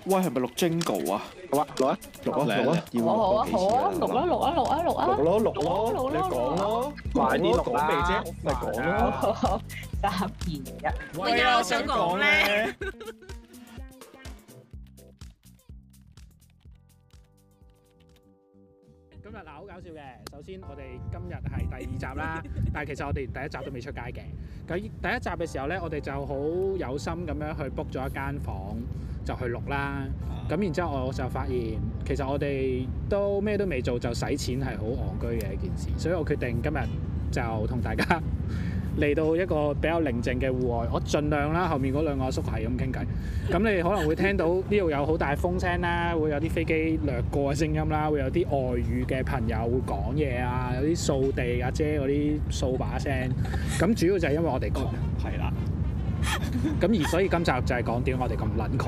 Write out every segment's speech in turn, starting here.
喂，係咪錄 Jingle 啊？ 好啊，錄啊， 要錄咯， 你講咯，快啲錄啦，講未啫？咪講咯。 3、2、1。 喂啊，我想講咧。 今日嗱好搞笑嘅，首先我哋今日係第2集啦，但係其實我哋第1集都未出街嘅。咁第1集嘅時候咧，我哋就好有心咁樣去 book 咗一間房就去錄啦。咁然之後我就發現，其實我哋都咩都未做就使錢係好戇居嘅一件事，所以我決定今日就同大家嚟到一個比較寧靜嘅戶外，我盡量啦，後面嗰兩個阿叔係咁傾偈。咁你可能會聽到呢度有好大風聲啦，會有啲飛機掠過嘅聲音啦，會有啲外語嘅朋友會講嘢啊，有啲掃地阿姐嗰啲掃把聲。咁主要就係因為我哋窮，係啦。咁而所以今集就係講點我哋咁撚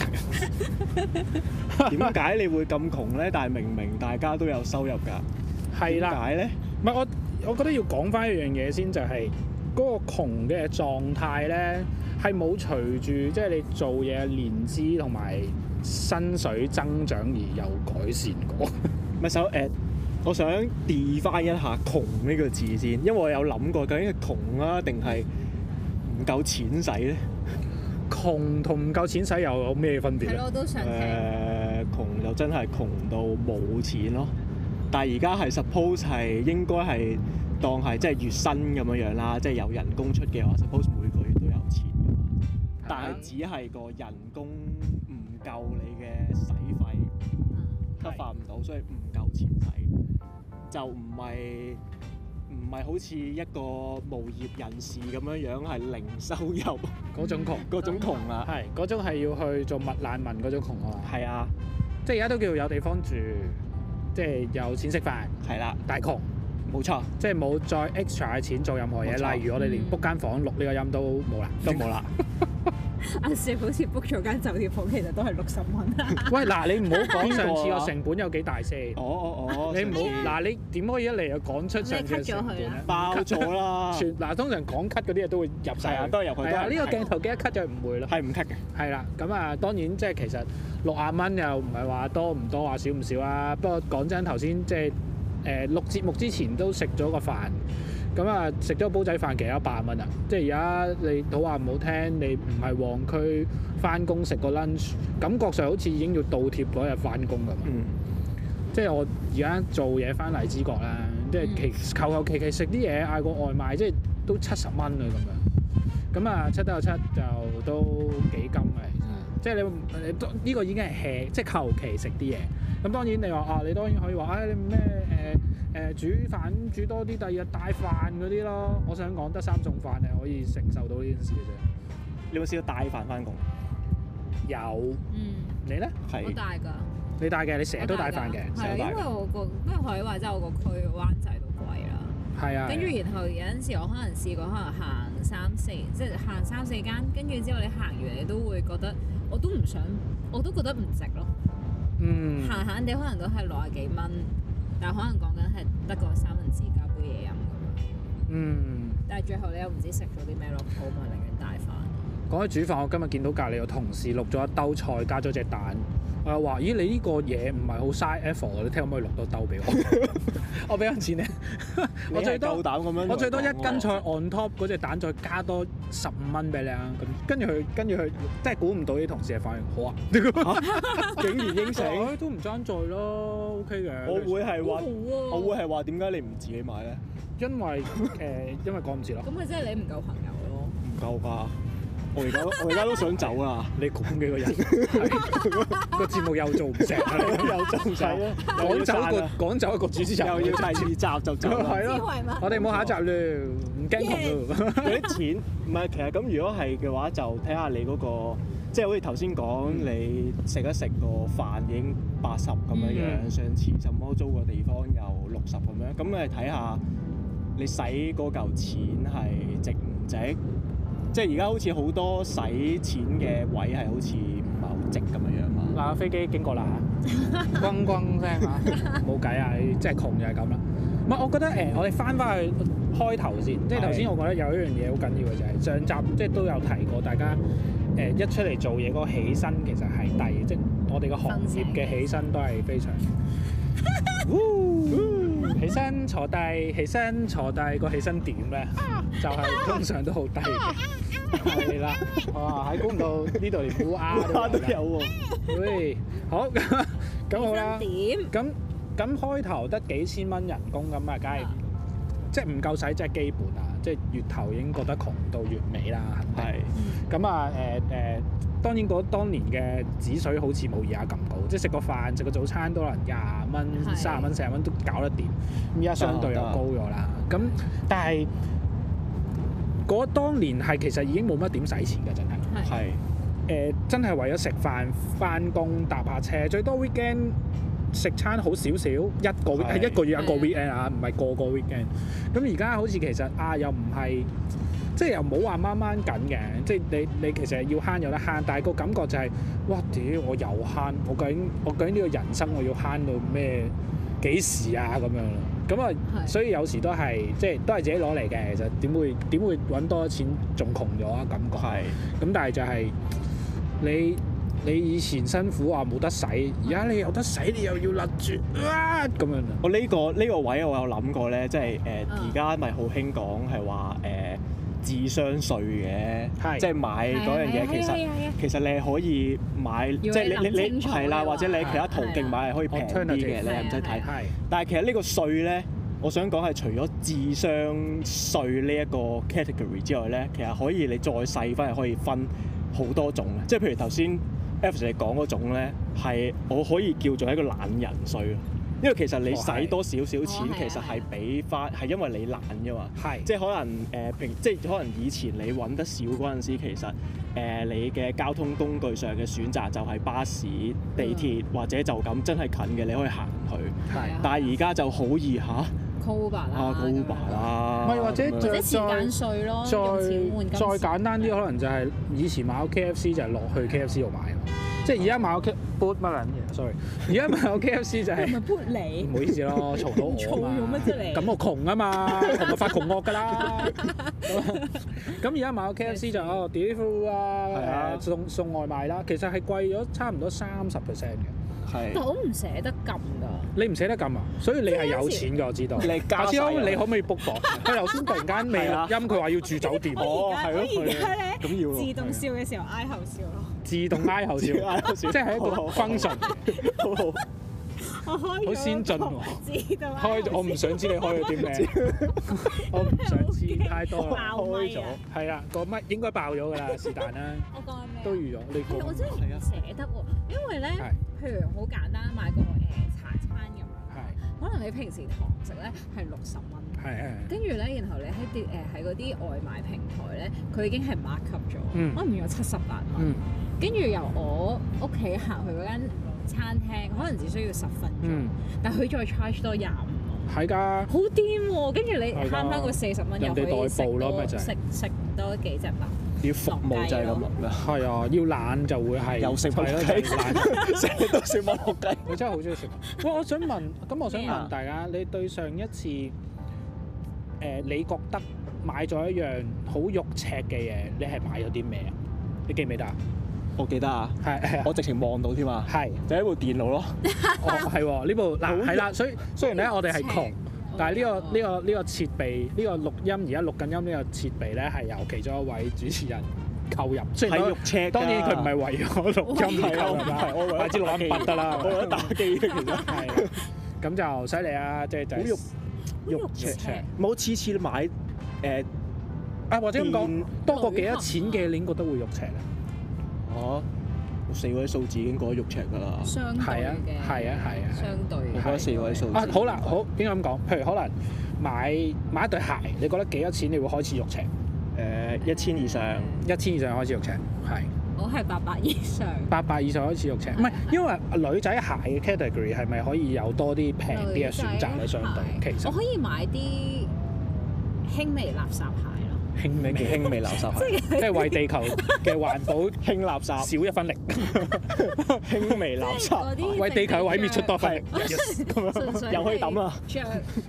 窮啦。 點解你會咁窮咧？但係明明大家都有收入㗎。係啦。點解咧？ 唔係我覺得要講翻一樣嘢先，就係嗰個窮嘅狀態咧，係冇隨住即係你做嘢年資同埋薪水增長而有改善過。 咪我想 define 一下窮呢個字先，因為我有諗過究竟係窮啊定係唔夠錢使咧？ 窮同唔夠錢使又有咩分別咧？ 係咯，我都想聽。 窮就真係窮到冇錢咯，但係而家係 suppose 係應該係當係即係月薪咁樣啦，即係有人工出嘅話 suppose 每個月都有錢㗎嘛。但係只係個人工唔夠你嘅使費，cover唔到，所以唔夠錢使，就唔係好似一個無業人士咁樣係零收入嗰種窮， 嗰種窮啊， 係嗰種係要去做麥難民嗰種窮啊嘛。 係啊， 即係而家都叫有地方住，即係有錢食飯， 係啦， 但係窮， 冇錯， 即係冇再 extra 嘅錢做任何嘢，例如我哋連 book 間房錄呢個音都冇啦， 都冇啦。 阿少好似 book 咗間酒店房，其實都係60蚊。 喂，嗱你唔好講上次個成本有幾大先。你唔好嗱，你點可以一嚟就講出上次嘅成本咧？ 爆咗啦！ 嗱，通常講 cut 嗰啲嘢都會入晒啊， 都係入去。係啊， 呢個鏡頭記得 cut 就唔會咯。 係唔 cut 嘅。係啦，咁啊當然即係其實60蚊又唔係話多唔多，話少唔少啊。不過講真，頭先即係錄節目之前都食咗個飯。咁啊，食咗煲仔飯其實100蚊啊！即係而家你好話唔好聽，你唔係旺區翻工食個 lunch， 感覺上好似已經要倒貼嗰日翻工咁。即係我而家做嘢翻荔枝角啦，即係求其食啲嘢，嗌個外賣，即係都70蚊啊咁樣。咁啊，7得7就都幾金嘅其實。即係你呢個已經係 hea，即係求其食啲嘢。咁當然你話啊，你當然可以話你咩煮飯煮多啲，第二日帶飯嗰啲咯。我想講得3餸飯係可以承受到呢件事嘅啫。 你有冇試過帶飯翻工？ 有。你咧？係。 我帶㗎。你帶嘅，你成日都帶飯嘅。 係因為因為學你話齋，我個區灣仔都貴啦。係啊。跟住然後有陣時我可能試過行3、4，即係行3、4間，跟住之後你行完你都會覺得，我都覺得唔值咯。閒地可能都係60幾蚊。但係可能講緊係得個3文治加杯嘢飲咁樣。但係最後你又唔知食咗啲咩落肚，咪寧願帶飯。 講起煮飯，我今日見到隔離有同事錄咗一兜菜，加咗隻蛋。我又話：咦，你呢個嘢唔係好嘥 effort， 你聽可唔可以錄多兜俾我？我俾緊錢你。我最多1斤菜 on top 嗰隻蛋，再加多15蚊俾你啊！咁跟住佢，真係估唔到啲同事嘅反應。好啊， 竟然應承， 都唔爭在咯 ，OK 嘅。 我會係話點解你唔自己買咧？ 因為趕唔切咯。 咁咪即係你唔夠朋友咯？ 唔夠㗎。我而家都想走啦！ 你講幾個人？個節目又做唔成， 又做唔成， 趕走一個主持人， 又要第2集就走啦。 係咯，我哋冇下一集啦，唔驚窮咯。 嗰啲錢唔係，其實咁如果係嘅話，就睇下你嗰個，即係好似頭先講，你食一食個飯已經80咁樣，上次什麼租個地方又60咁樣，咁你睇下你使嗰嚿錢係值唔值？即係而家好似好多使錢嘅位係好似唔係好值咁樣嘛。 嗱，飛機經過啦，轟轟聲嚇，冇計啊！即係窮就係咁啦。唔係，我覺得我哋翻去開頭先，即係頭先我覺得有一樣嘢好緊要嘅就係上集即係都有提過，大家一出嚟做嘢嗰個起薪其實係低，即係我哋個行業嘅起薪都係非常。起身坐低，起身坐低，個起身點咧，就係通常都好低嘅。係啦，哇！喺估唔到呢度連烏鴉都有喎。喂，好咁好啦。咁開頭得幾千蚊人工咁啊，梗係即係唔夠使，即係基本啊！即係月頭已經覺得窮到月尾啦，係。咁啊當然當年嘅紙水好似冇而家咁高，即係食個飯食個早餐都可能20蚊、30蚊、40蚊都搞得掂。咁而家相對又高咗啦。咁但係當年係其實已經冇乜點使錢㗎，真係。係。真係為咗食飯、返工、搭下車，最多 weekend 食餐好少少，係一個月一個 weekend 啊，唔係個個 weekend。咁而家好似其實又唔係。即係又冇話掹掹緊嘅，即係你其實要慳有得慳，但係個感覺就係、哇屌我又慳，我究竟呢個人生我要慳到咩幾時啊咁樣咯？咁啊，所以有時都係即係都係自己攞嚟嘅，其實點會揾多錢仲窮咗啊感覺？係。咁但係就係你以前辛苦話冇得使，而家你有得使，你又要勒住啊咁樣。 我呢個位我有諗過咧，即係而家咪好興講係話智商稅嘅，即係買嗰樣嘢，其實你係可以買，即係你係啦，或者你喺其他途徑買係可以平啲嘅，你係唔使睇。但係其實呢個稅咧，我想講係除咗智商稅呢一個 category 之外咧，其實可以你再細分係可以分好多種嘅，即係譬如頭先 F 你講嗰種咧，係我可以叫做一個懶人稅。因為其實你使多少少錢，其實係俾翻，係因為你懶啫嘛。係，即係可能即係可能以前你揾得少嗰陣時，其實你嘅交通工具上嘅選擇就係巴士、地鐵或者就咁真係近嘅，你可以行去。係。但係而家就好易嚇。Uber 啦。Uber 啦。唔係或者時間稅咯，用錢換金。 再簡單啲，可能就係以前買個 KFC 就係落去 KFC 度買。即係而家買個 boot 乜撚嘢 ？sorry， 而家買個 KFC 就係唔係 boot 你？唔好意思咯，嘈到我嘛。嘈咗乜啫你？咁我窮啊嘛，窮就發窮惡㗎啦。咁而家買個 KFC 就delivery 啊，送外賣啦，其實係貴咗差唔多30% 嘅。係。但我唔捨得撳㗎。你唔捨得撳啊？所以你係有錢㗎，我知道。下次你可唔可以 book 我？佢頭先突然間未錄音，佢話要住酒店。 哦，係咯。而家咧， 咁要自動笑嘅時候挨後笑咯。 自動挨後笑，即係一個 function，好先進喎。開咗，我唔想知你開咗啲咩，我唔想知太多啦。開咗，係啦，個咪應該爆咗㗎啦，是但啦。 我講咩？ 都預咗，你講。 我真係唔捨得喎，因為咧，譬如好簡單買個茶餐咁樣，可能你平時堂食咧係60蚊。跟住咧，然後你喺嗰啲外賣平台咧，佢已經係 mark up 咗，可能有78蚊。跟住由我屋企行去嗰間餐廳，可能只需要10分鐘，但佢再 charge 多25蚊。係㗎。好癲喎！跟住你慳翻個40蚊，又可以食多幾隻飯。 要服務就係咁啦。係啊，要懶就會係。又食麥樂雞，成日都食麥樂雞。我真係好中意食。喂，我想問大家，你對上一次你覺得買咗一樣好肉赤嘅嘢，你係買咗啲咩啊？你記唔記得啊？ 我記得啊，係我直情望到添啊，係就係一部電腦咯。 哦，係喎，呢部嗱係啦，所以雖然咧我哋係窮，但係呢個設備，呢個錄音而家錄緊音呢個設備咧係由其中一位主持人購入。 係肉赤，當然佢唔係為咗錄音購入啦，我買支錄音筆得啦，我為咗打機其實係。 咁就犀利啊！即係就肉赤，冇次次買或者咁講多過幾多錢嘅，你已經覺得會肉赤啊？ 哦，4位數字已經覺得肉赤㗎啦。 相對嘅。 係啊。 相對。 我覺得4位數字。 好啦，好應該咁講，譬如可能買一對鞋，你覺得幾多錢你會開始肉赤 ？1000以上。1000 以上開始肉赤，係。 我係800以上。 800以上開始肉赤，唔係因為女仔鞋嘅 category 係咪可以有多啲平啲嘅選擇咧？相對其實。 我可以買啲輕微垃圾鞋。 輕微垃圾鞋， 即係為地球嘅環保輕垃圾少一分力。 輕微垃圾， 為地球毀滅出多份力咁樣，又可以抌啦。 着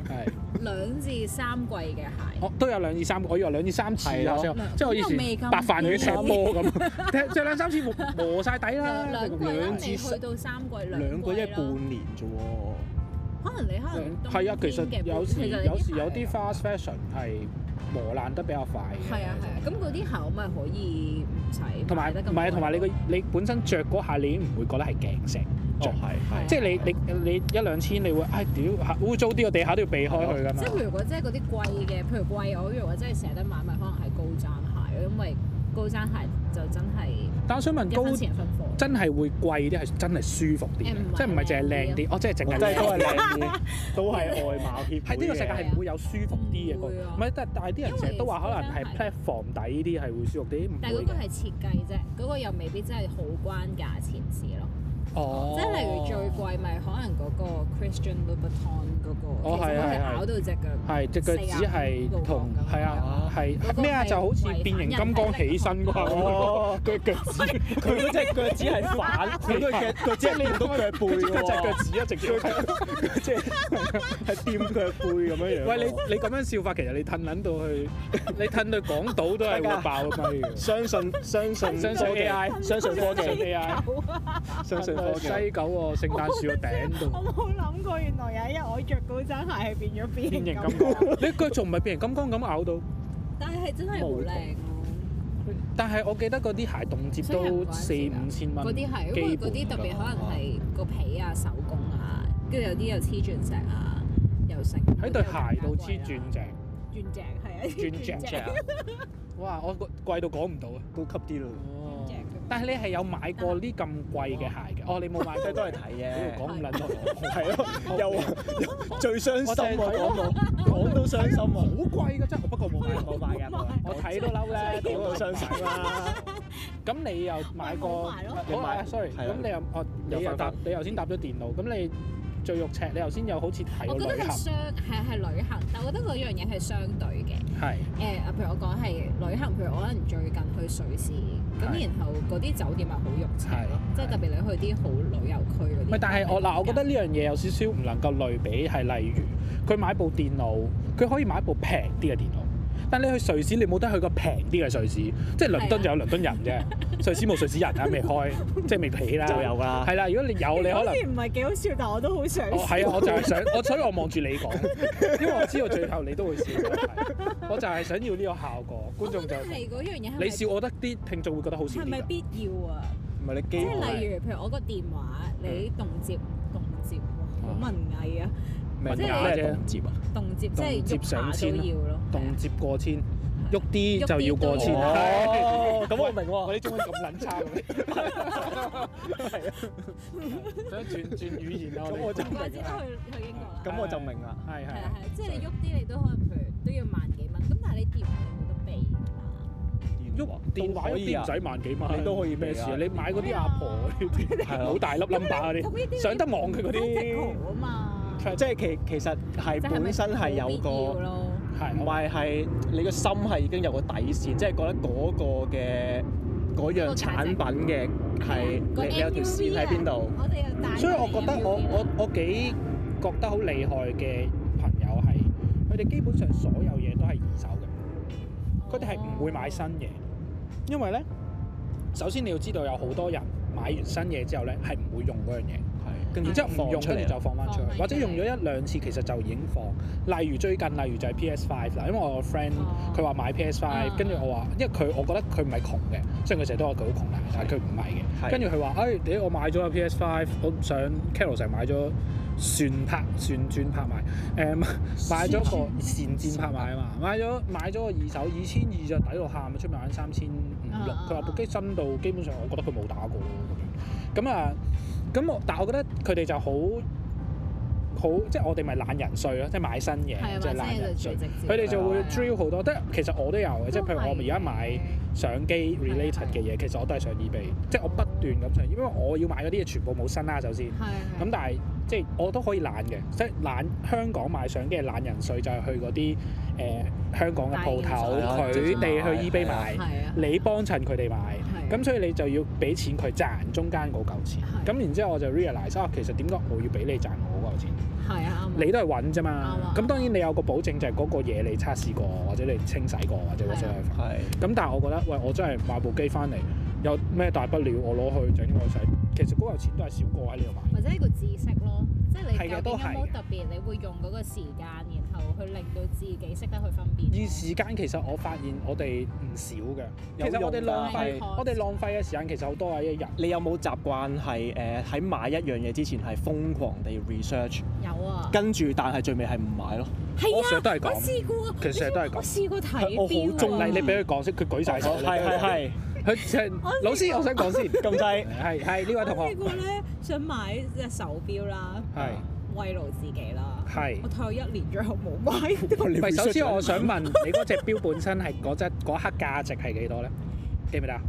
2至3季嘅鞋， 我都有2至3，我以為2至3次啊，即係我以前白飯去踢波咁，踢2、3次磨曬底啦。 2至去到3季 2個一半年啫喎。 可能你係啊，其實有時有啲 fast fashion 係磨爛得比較快嘅。 係啊，咁嗰啲鞋我咪可以唔使買得咁貴。 同埋你本身着嗰下你已經唔會覺得係鏡石。 係， 即係你1-2千你會屌污糟啲個地下都要避開佢㗎嘛。 即係譬如果即係嗰啲貴嘅，譬如貴我如果真係捨得買，咪可能係高踭鞋咯，因為高踭鞋就真係。 但我想問高真係會貴啲係真係舒服啲，即係唔係淨係靚啲？即係淨係都係靚啲，都係外貌協會嘅。喺呢個世界係唔會有舒服啲嘅，唔係，但係啲人成日都話可能係 platform 底呢啲係會舒服啲， 但係嗰個係設計啫，嗰個又未必真係好關價錢事咯。即係例如最貴咪可能嗰個 Christian Louboutin 嗰個，其實都係咬到隻腳， 係隻腳趾係同係啊係咩啊？就好似變形金剛起身嗰下，佢腳趾佢嗰隻腳趾係反，佢個腳趾係你唔到腳背喎，隻腳趾啊直接即係掂腳背咁樣樣。喂，你咁樣笑法，其實你褪撚到去，你褪到港島都係會爆咪嘅。相信 AI， 相信科技 AI， 相信。西九喎，聖誕樹個頂度。 我冇諗過，原來有一日我着高踭鞋係變形金剛。 你腳仲唔係變形金剛咁咬到？ 但係真係好靚咯。 但係我記得嗰啲鞋動輒都4-5千蚊。 嗰啲係，因為嗰啲特別可能係個皮啊、手工啊，跟住有啲又黐鑽石啊，又成。喺對鞋度黐鑽石。鑽石係啊。鑽石。 哇！我貴到講唔到啊， 高級啲咯。 但係你係有買過呢咁貴嘅鞋嘅？哦，你冇買，即係都係睇嘅。講唔撚到， 係咯，又最傷心喎，講到傷心啊！好貴㗎真係，不過冇買嘅，我睇都嬲咧，講到傷心啦。 咁你又買過？你買 sorry，咁你又你頭先搭咗電腦，咁你最肉赤，你頭先又好似睇過旅行。我覺得係旅行，但我覺得嗰樣嘢係相對嘅。 係。 譬如我講係旅行，譬如我可能最近去瑞士。咁然後嗰啲酒店係好肉赤咯，即係特別你去啲好旅遊區嗰啲。唔係，但係我覺得呢樣嘢有少少唔能夠類比，係例如佢買部電腦，佢可以買一部平啲嘅電腦，但你去瑞士你冇得去個平啲嘅瑞士，即係倫敦就有倫敦人啫，瑞士冇瑞士人啊，未開，即係未起啦。就有㗎。係啦，如果你有你可能。好似唔係幾好笑，但我都好想。係啊，我就係想，所以我望住你講，因為我知道最後你都會笑。我就係想要呢個效果，觀眾就係嗰樣嘢。你笑，我覺得啲聽眾會覺得好笑。係咪必要啊？唔係你機。即係例如，譬如我個電話，你動接，好文藝啊！ 咩啫？動接啊！ 動接即係喐下都要咯。 動接過千，喐啲就要過千。 哦，咁我明喎。 我啲中文咁撚差嘅。係啊。想轉語言啊！咁我就明啦。 去英國啦。 咁我就明啦。 係，即係你喐啲，你都可能譬如都要萬幾蚊。咁但係你電話你冇得避㗎嘛？ 喐電話喐啲唔使萬幾蚊，你都可以咩事啊？你買嗰啲阿婆好大粒 number 嗰啲，上得網嘅嗰啲。啊嘛。 即係其實係本身係有個，唔係你個心係已經有個底線，即係覺得嗰個嘅嗰樣產品嘅係你有條線喺邊度。 所以我覺得我幾覺得好厲害嘅朋友係，佢哋基本上所有嘢都係二手嘅，佢哋係唔會買新嘢，因為咧，首先你要知道有好多人買完新嘢之後咧係唔會用嗰樣嘢。然之後唔用，跟住就放翻出去，或者用咗1-2次，其實就已經放。例如最近，例如就係 PS5 啦，因為我個 friend 佢話買 PS5，跟住我話，因為我覺得佢唔係窮嘅，雖然佢成日都話佢好窮啦，但係佢唔係嘅。跟住佢話，我買咗個 PS5，我上 Carousell 成買咗旋轉拍賣，買咗個善戰拍賣啊嘛，買咗個二手2200就抵到喊，出面玩3500。佢話部機新到基本上，我覺得佢冇打過咯咁樣。咁啊〜但係我覺得佢哋就好，即係我哋咪懶人稅咯，即係買新嘢，即係懶人稅。佢哋就會 drill 好多，其實我都有嘅，即係譬如我而家買相機 related 嘅嘢，其實我都係上 eBay，即係我不斷咁上，因為我要買嗰啲嘢全部冇新啦，首先。咁但係即係我都可以懶嘅，即係香港買相機嘅懶人稅就係去嗰啲香港嘅鋪頭，佢哋去 eBay 買，你幫襯佢哋買。 咁所以你就要俾錢佢賺中間嗰嚿錢。咁然之後我就 realize 其實點解我要俾你賺我嗰嚿錢？ 係啊， 你都係揾啫嘛。咁當然你有個保證就係嗰個嘢你測試過，或者你清洗過，或者嗰啲係。咁但係我覺得，喂，我真係買部機翻嚟，有咩大不了？我攞去整我洗，其實嗰嚿錢都係少過喺呢度買。 或者呢個知識咯，即係你究竟有冇特別，你會用嗰個時間，然後去令到自己識得去分辨。而時間其實我發現我哋唔少嘅，其實我哋浪費嘅時間其實好多啊！一日。你有冇習慣係喺買一樣嘢之前係瘋狂地 research？有啊。跟住但係最尾係唔買咯。 係啊， 我成日都係咁。 我試過。 其實成日都係咁。 我試過睇我好中意你俾佢講先，佢舉晒手。係。佢老師，我想講先，咁滯係呢位同學。我試過咧，想買隻手錶啦，慰勞自己啦。係。我睇咗1年，最後冇買。唔係，首先我想問你嗰隻錶本身係嗰刻價值係幾多咧？記唔記得啊？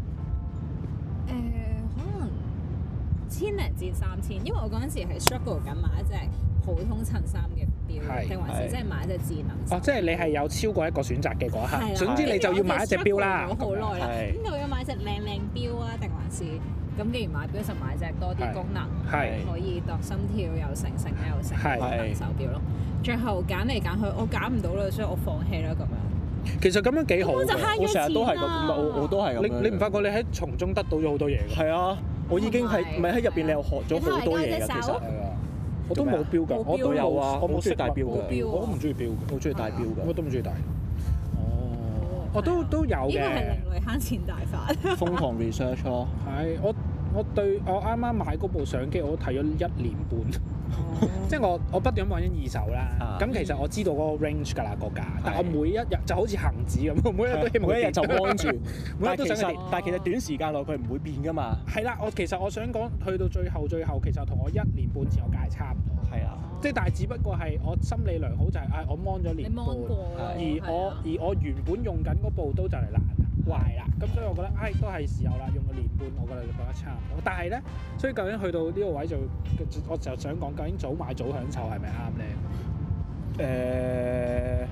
可能1000零至3000，因為我嗰陣時係 struggle 緊買一隻普通襯衫嘅錶，定還是即係買一隻智能？哦， 即係你係有超過一個選擇嘅嗰一刻，總之你就要買一隻錶啦。 好耐啦，咁究竟買隻靚錶啊，定還是咁？既然買錶就買隻多啲功能，可以度心跳又成功能手錶咯。最後揀嚟揀去，我揀唔到啦，所以我放棄啦咁樣。 其實咁樣幾好， 我成日都係咁，我都係咁。 你唔發覺你喺從中得到咗好多嘢㗎？係啊， 我已經係唔係喺入邊你又學咗好多嘢㗎，其實。 我都冇錶㗎，我都有啊，我冇中意戴錶㗎，我都唔中意錶㗎，我中意戴錶㗎，我都唔中意戴。哦，我都有嘅。呢個係另類慳錢大法。 瘋狂 research 咯。 係，我對我啱啱買嗰部相機，我都睇咗1年半。即係我不斷揾緊二手啦。咁其實我知道嗰個 range 㗎啦個價，但我每一日就好似恆指咁，每一日都希望每一日就安住。 每日都想但係其實短時間內佢唔會變㗎嘛。 係啦，其實我想講，去到最後，其實同我1年半前個價係差唔多。係啊。即係但係只不過係我心理良好就係我 mon 咗年半，而我原本用緊嗰部都就嚟壞啦，咁所以我覺得都係時候啦，用個年半，我覺得差唔多。但係咧，所以究竟去到呢個位我就想講，究竟早買早享受係咪啱咧？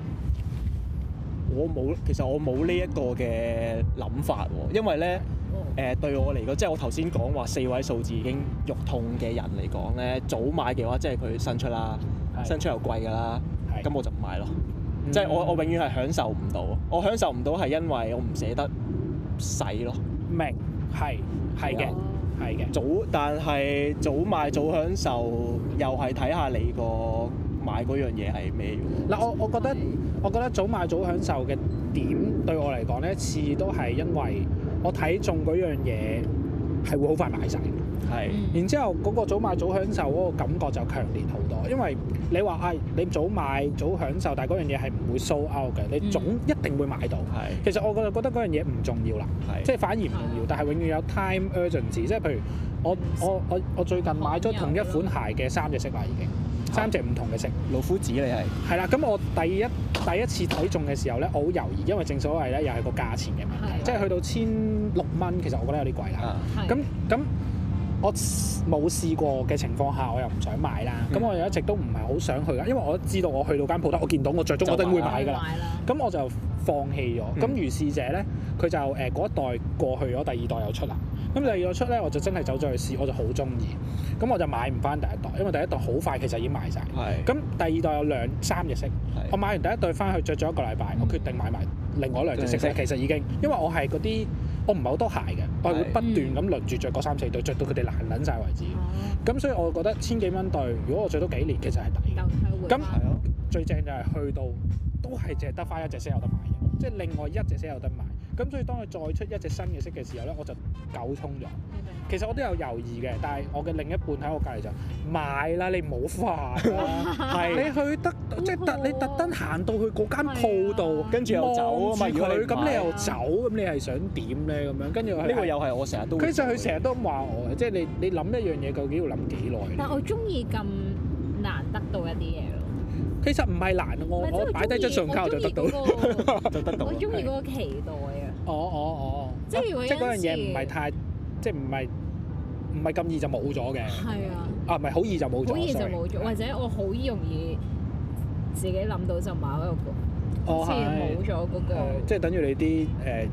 其實我冇呢一個嘅諗法喎，因為咧對我嚟講，即係我頭先講話4位數字已經肉痛嘅人嚟講咧，早買嘅話，即係佢新出啦，新出又貴㗎啦，咁我就唔買咯。即係我永遠係享受唔到，我享受唔到係因為我唔捨得使咯。 明係嘅。 但係早買早享受，又係睇下你個買嗰樣嘢係咩喎？ 嗱，我覺得早買早享受嘅點對我嚟講咧，次都係因為我睇中嗰樣嘢係會好快買晒。係。然之後嗰個早買早享受嗰個感覺就強烈好多，因為你話你早買早享受，但係嗰樣嘢係唔會 sold out 嘅，你總一定會買到。係。其實我覺得嗰樣嘢唔重要啦，即係反而唔重要，但係永遠有 time urgency，即係譬如我最近買咗同一款鞋嘅3隻色啦，已經3隻唔同嘅色。 老夫子你係啦，咁我第一次睇中嘅時候咧，我好猶豫，因為正所謂咧又係個價錢嘅問題，即係去到1600蚊，其實我覺得有啲貴啦。咁我冇試過嘅情況下，我又唔想買啦。咁我又一直都唔係好想去㗎，因為我知道我去到間鋪頭，我見到我着中，我一定會買㗎啦。咁我就放棄咗。咁如是者咧，佢就嗰一代過去咗，第2代又出啦。咁第2代出咧，我就真係走咗去試，我就好中意。咁我就買唔翻第1代，因為第1代好快其實已經賣晒。咁第2代有3隻色，我買完第1代翻去着咗1個禮拜，我決定買埋另外2隻色。其實已經，因為我係嗰啲。我唔係好多鞋嘅，我係會不斷咁輪住着嗰3、4對，着到佢哋爛撚晒為止。咁所以我覺得1000幾蚊對，如果我着到幾年，其實係抵。咁最正就係去到都係淨係得翻1隻色有得買嘅，即係另外1隻色有得買。咁所以當佢再出1隻新嘅色嘅時候咧，我就九衝咗。其實我都有猶豫嘅，但係我嘅另一半喺我隔離就買啦，你唔好煩啦。你去得即係你特登行到去嗰間鋪度，跟住又走啊嘛。咁你又走，咁你係想點咧？咁樣跟住呢個又係我成日都。其實佢成日都咁話我嘅，即係你諗一樣嘢究竟要諗幾耐？但我中意咁難得到一啲嘢咯。其實唔係難，我擺低張信用卡就得到，就得到。我中意嗰個期待啊！即係如果即係嗰樣嘢唔係太，即係唔係咁易就冇咗嘅。係啊。唔係好易就冇咗。好易就冇咗，或者我好容易自己諗到就買一個，好似冇咗嗰個。即係等於你啲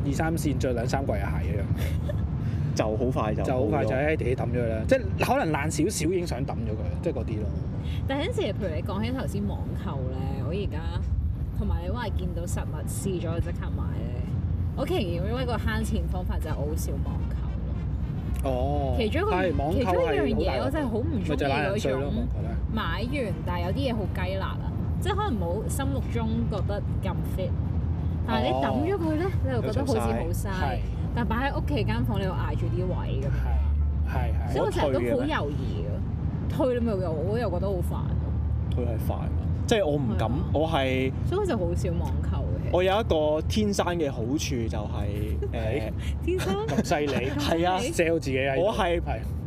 2、3線着2、3季嘅鞋一樣。 就好快就喺地抌咗佢啦，即係可能爛少少已經想抌咗佢，即係嗰啲咯。 但係有陣時，譬如你講起頭先網購咧，我而家同埋你話見到實物試咗即刻買咧，我其實因為個慳錢方法就係我好少網購咯。 哦， 其中一樣嘢我真係好唔中意嗰種買完，但係有啲嘢好雞肋啊，即係可能冇心目中覺得咁 fit，但係你抌咗佢咧，你又覺得好似好嘥。但係擺喺屋企間房，你又捱住啲位咁樣，係，所以我成日都好猶豫嘅。退你咪我又覺得好煩。 退係煩，即係我唔敢，我係。 所以我就好少網購嘅。 我有一個天生嘅好處就係天生咁犀利， 係啊 ，sell 自己啊！ 我係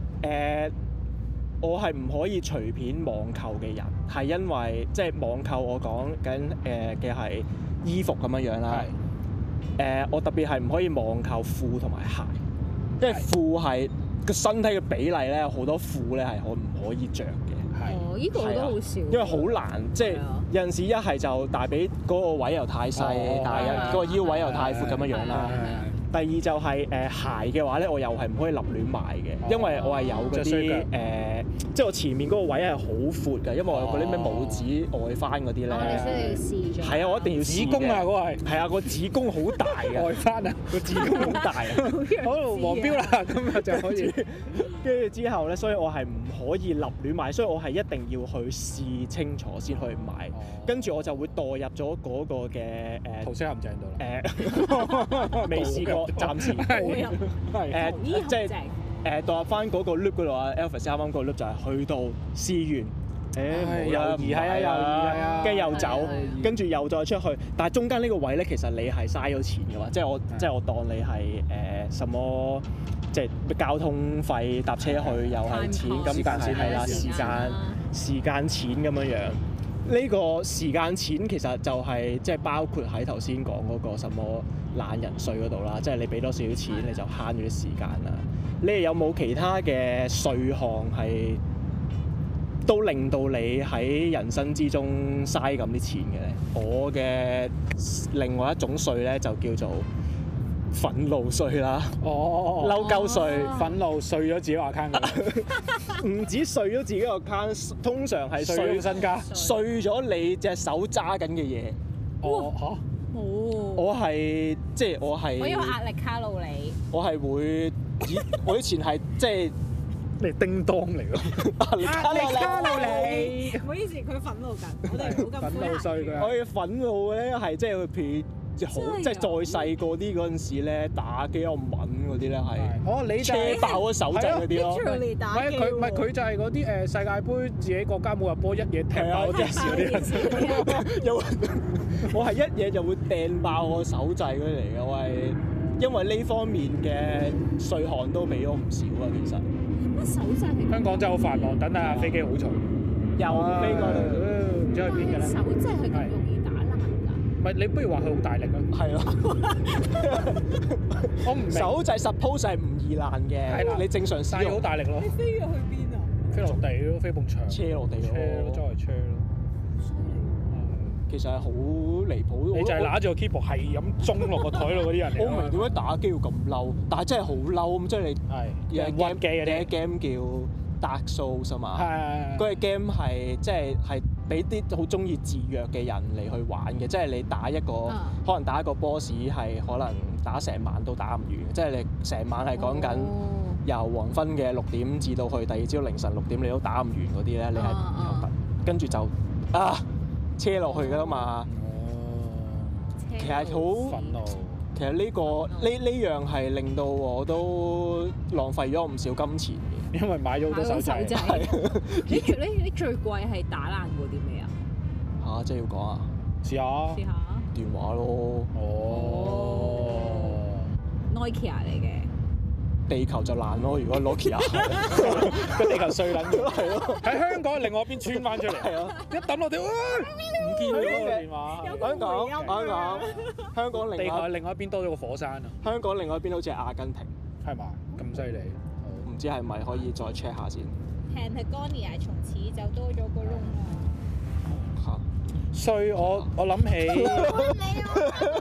我係唔可以隨便網購嘅人，係因為即係網購我講緊嘅係衣服咁樣樣啦。我特別係唔可以網購褲同埋鞋，因為褲係個身體嘅比例咧，有好多褲咧係我唔可以着嘅。 哦，依個我都好少。 因為好難，即係有陣時一係就大髀嗰個位又太細，但係個腰位又太闊咁樣樣啦。第二就係鞋嘅話咧，我又係唔可以立亂買嘅，因為我係有嗰啲即係我前面嗰個位係好闊嘅，因為我有嗰啲咩拇指外翻嗰啲咧。 你需要試咗。 係啊，我一定要試嘅。 子宮啊，嗰個係。係啊，個子宮好大嘅。 外翻啊，個子宮好大啊。好，黃標啦，今日就可以。 跟住之後咧，所以我係唔可以立亂買，所以我係一定要去試清楚先去買。跟住我就會墮入咗嗰個嘅桃色陷阱度啦。 未試過。暫時係即係墮入翻嗰個 loop 嗰度啊 ，Elvis 啱啱個 loop 就係去到試完，猶豫係啊，跟住又走，跟住又再出去，但係中間呢個位咧，其實你係嘥咗錢嘅嘛，即係我當你係什麼，即係交通費搭車去又係錢，咁但係係啦，時間錢咁樣樣。呢個時間錢其實就係即係包括喺頭先講嗰個什麼懶人稅嗰度啦，即係你俾多少少錢你就慳咗啲時間啦。你哋有冇其他嘅稅項係都令到你喺人生之中嘥咁啲錢嘅咧？我嘅另外一種稅咧就叫做憤怒稅啦，嬲鳩稅， 憤怒稅咗自己個 account 㗎， 唔止稅咗自己個 account，通常係稅身家， 稅咗你隻手揸緊嘅嘢。我係即係我係。 我有壓力卡路里。 我係會，我以前係即係你叮當嚟㗎， 壓力卡路里。 唔好意思，佢憤怒緊，我哋唔好咁憤怒稅㗎。 我嘅憤怒咧係即係譬如。即係再細個啲嗰陣時咧，打機有敏嗰啲咧係，你車爆咗手掣嗰啲咯。 唔係佢就係嗰啲世界盃自己國家冇入波一嘢踢爆電視嗰啲人。 我係一嘢就會掟爆我手掣嗰啲嚟嘅，我係因為呢方面嘅稅項都俾咗唔少啊，其實。 乜手掣？ 香港真係好繁忙，等下飛機好嘈。 又飛過嚟， 唔知去邊㗎咧？ 手掣係咁容易打爛㗎？ 唔係你不如話佢好大力啊？ 係咯。我唔明。手掣 suppose 係唔易爛嘅，你正常使用。 好大力咯。 你飛咗去邊啊？ 飛落地咯，飛埲牆。 車落地咯。 周圍車咯。 其實係好離譜。 你就係揦住個 keyboard 係咁中落個台度嗰啲人嚟。 我唔明點解打機要咁嬲，但係真係好嬲咁，即係你有 game 嘅 game 叫 Dark Souls 啊嘛。係。嗰個 game 係即係俾啲好中意自虐嘅人嚟去玩嘅，即係你打一個可能打一個 boss 係可能打成晚都打唔完，即係你成晚係講緊由黃昏嘅6點至到去第二朝凌晨6點你都打唔完嗰啲咧，你係跟住就車落去㗎啦嘛。其實好憤怒。其實呢樣係令到我都浪費咗唔少金錢嘅， 因為買咗好多手掣。 你最貴係打爛過啲咩啊？ 嚇！即係要講啊！ 試下電話咯。 Nokia 嚟嘅。 地球就爛咯！如果 Nokia 個地球碎撚咗，係咯。喺香港另外一邊穿翻出嚟，係咯。一抌落地，唔見咗個電話。香港地球另外一邊多咗個火山啊！ 香港另外一邊好似係阿根廷， 係嘛？咁犀利， 唔知係咪可以再 check 下先。 Patagonia 從此就多咗個窿啦。 嚇！所以我諗起。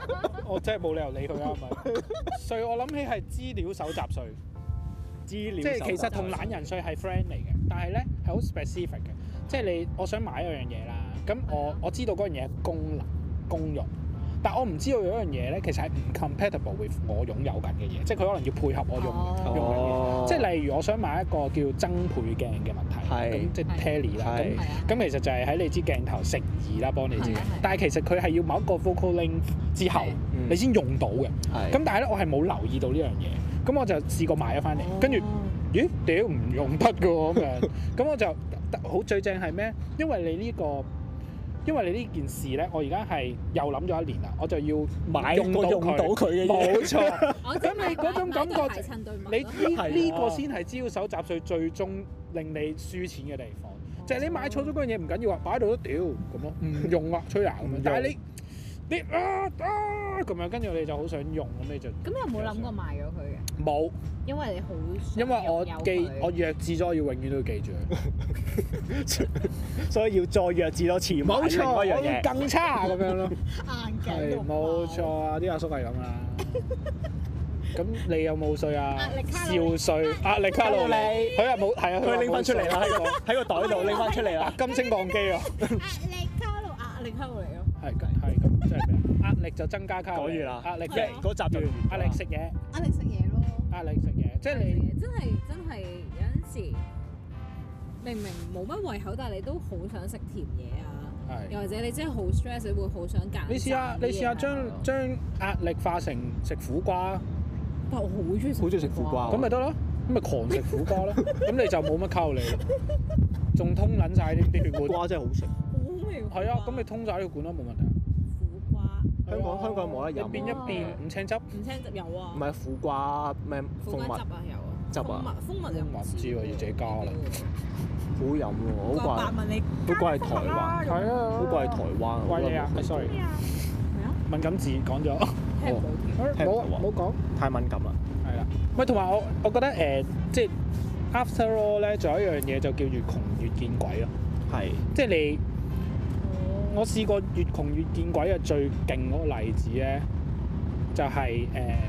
我真係冇理由理佢啊，係咪？稅我諗起係資料搜集稅，即係其實同懶人稅係 friend 嚟嘅，但係咧係好 specific 嘅，即係我想買一樣嘢啦，咁我知道嗰樣嘢功能功用。但我唔知道有一樣嘢咧，其實係唔 compatible with 我擁有緊嘅嘢，即係佢可能要配合我用嘅嘢。即係例如我想買一個叫增倍鏡嘅問題，咁即係 tele 啦。咁其實就係喺你支鏡頭乘2啦，幫你知。但係其實佢係要某一個 focal length 之後，你先用到嘅。咁但係咧，我係冇留意到呢樣嘢。咁我就試過買咗翻嚟，跟住咦屌唔用得㗎喎咁樣。咁我就好最正係咩？因為你呢件事咧，我而家係又諗咗1年啦，我就要用到佢嘅嘢。冇錯。咁你嗰種感覺，你呢個先係資料搜集稅最終令你輸錢嘅地方。就係你買錯咗嗰樣嘢唔緊要啊，擺喺度都屌咁咯，唔用啊，吹牙咁樣。但係你咁樣，跟住你就好想用咁你就。咁有冇諗過賣咗佢嘅？冇。因為你好。因為我弱智咗，我要永遠都要記住佢， 所以要再弱智多次。冇錯，我要更差咁樣咯。 硬頸。 係冇錯啊！啲阿叔係咁啦。咁你有冇稅啊？少稅，壓力卡路里。佢係冇，係啊，佢拎翻出嚟啦，喺個袋度拎翻出嚟啦。金星磅機啊！壓力卡路里咯。係咁，即係咩？壓力就增加卡路里。講完啦。壓力嘅嗰集就完。壓力食嘢。 壓力食嘢咯。 壓力食嘢，即係你真係有陣時明明冇乜胃口，但係你都好想食甜嘢啊。又或者你真係好 stress，你會好想揀。你試下將壓力化成食苦瓜。但我好中意食苦瓜。咁咪得咯，咁咪狂食苦瓜咯。咁你就冇乜卡路里咯，仲通撚晒啲血管。 瓜真係好食。 好味。係啊，咁你通晒呢個管都冇問題。 苦瓜。 香港冇得飲。 一邊五青汁。 五青汁有啊。 唔係苦瓜咩？蜂蜜汁啊有啊。 汁啊。 蜂蜜又唔知喎，要自己加啦。 好飲喎，好貴係台灣。 係啊。 好貴係台灣。 貴嘢啊 ！sorry。敏感字講咗。冇講。 太敏感啦。 係啦。喂，同埋我覺得即係 after all 咧，仲有一樣嘢就叫越窮越見鬼咯。係。即係你，我試過越窮越見鬼嘅最勁嗰個例子咧，就係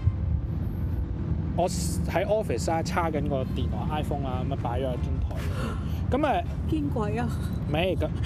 我喺 office 啊，叉緊個電話 iPhone 啊，咁啊擺咗喺張台。咁啊見鬼啊！未咁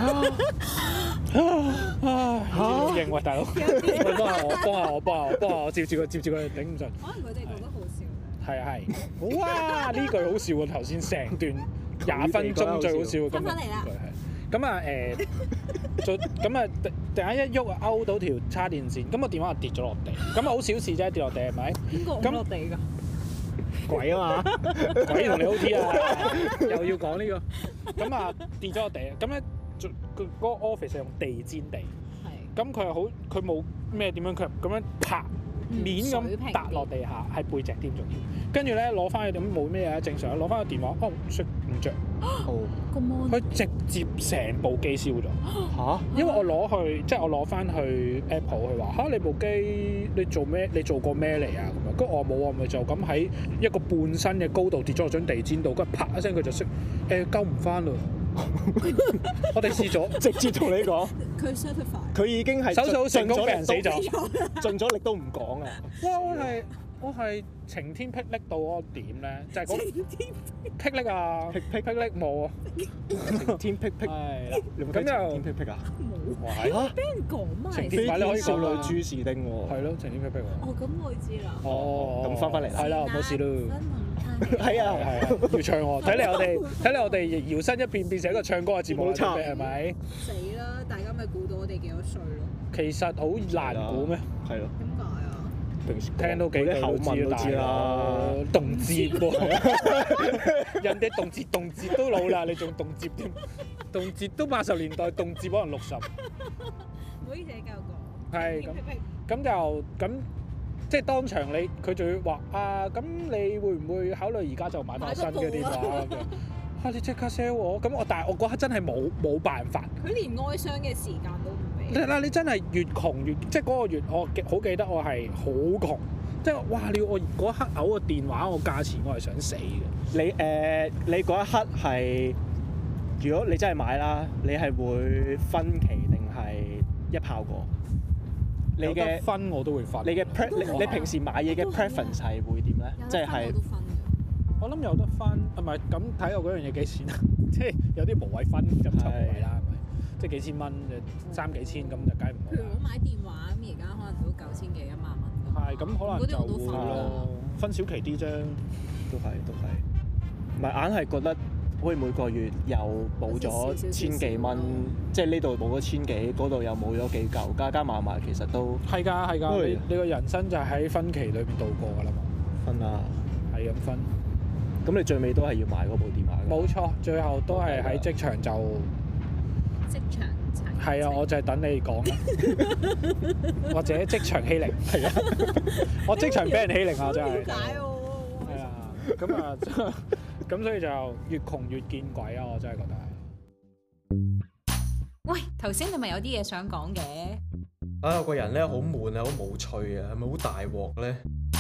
好型喎，大佬！幫下我，接住佢，頂唔順。可能佢哋覺得好笑。係。好啊！呢句好笑喎，頭先成段20分鐘最好笑嘅。翻嚟啦！咁啊咁啊突然間一喐啊勾到條叉電線，咁個電話就跌咗落地。咁啊好小事啫，跌落地係咪？邊個咁落地㗎？鬼啊嘛！鬼同你 OT 啊！又要講呢個。咁啊跌咗落地，咁咧嗰個 office 係用地氈地。係。咁佢又好，佢冇咩點樣，佢咁樣拍面咁揼落地下，係背脊添仲要。跟住咧攞翻去咁冇咩嘢，正常攞翻個電話，熄唔着。佢直接成部機燒咗嚇！因為我攞去，即係我攞翻去 Apple，佢話嚇你部機你做咩？你做過咩嚟啊？咁樣，跟住我冇啊，咪就咁喺一個半身嘅高度跌咗落張地氈度，跟住啪一聲佢就熄，救唔翻啦！我哋試咗，直接同你講，佢 certify，佢已經係手術好成功，俾人死咗，盡咗力都唔講啊！哇！我係晴天霹靂到嗰個點咧，就係嗰霹靂啊！霹靂冇啊！晴天霹靂係啦，咁又晴天霹靂啊！冇嚇，俾人講埋。晴天霹靂少女朱士丁喎。係咯，晴天霹靂喎。咁我知啦。咁翻嚟啦。係啦，冇事咯。係啊，要唱喎。睇嚟我哋搖身一變變成一個唱歌嘅節目，冇錯，係咪？死啦！大家咪估到我哋幾多歲咯？其實好難估咩？係咯。點解啊？聽到幾句口吻都知啦，動節喎，人哋動節都老啦，你仲動節添？動節都80年代，動節可能60。唔好意思，繼續講。係咁，即係當場佢仲要話啊，咁你會唔會考慮而家就買翻新嘅電話咁樣？你即刻 sell 我，但係我嗰刻真係冇辦法。佢連哀傷嘅時間都唔俾。嗱，你真係越窮越，即係嗰個月，我好記得我係好窮，即係哇！你要我嗰一刻嘔個電話，我價錢我係想死嘅。你嗰一刻係，如果你真係買啦，你係會分期定係一炮過？ 你嘅分我都會分。 你嘅平時買嘢嘅 preference 係會點咧？即係我諗有得分，唔係咁睇我嗰樣嘢幾錢啊？即係有啲無謂分咁就無謂啦，係咪？即係幾千蚊3幾千咁就梗係唔好。 譬如我買電話咁，而家可能都9000幾1萬蚊。 係咁可能就會咯，分小期啲啫。 都係，唔係硬係覺得好似每個月又冇咗千幾蚊，即係呢度冇咗千幾，嗰度又冇咗幾嚿，加埋其實都係㗎，你個人生就喺分期裏邊度過㗎啦嘛。 分啊， 係咁分。 咁你最尾都係要買嗰部電話㗎？ 冇錯，最後都係喺職場就職場係啊，我就係等你講啦，或者職場欺凌係啊，我職場俾人欺凌啊，真係。點解喎？係啊，咁所以就越窮越見鬼啊！我真係覺得係。 喂，頭先你咪有啲嘢想講嘅？ 我個人咧好悶啊，好無趣啊，係咪好大鑊咧？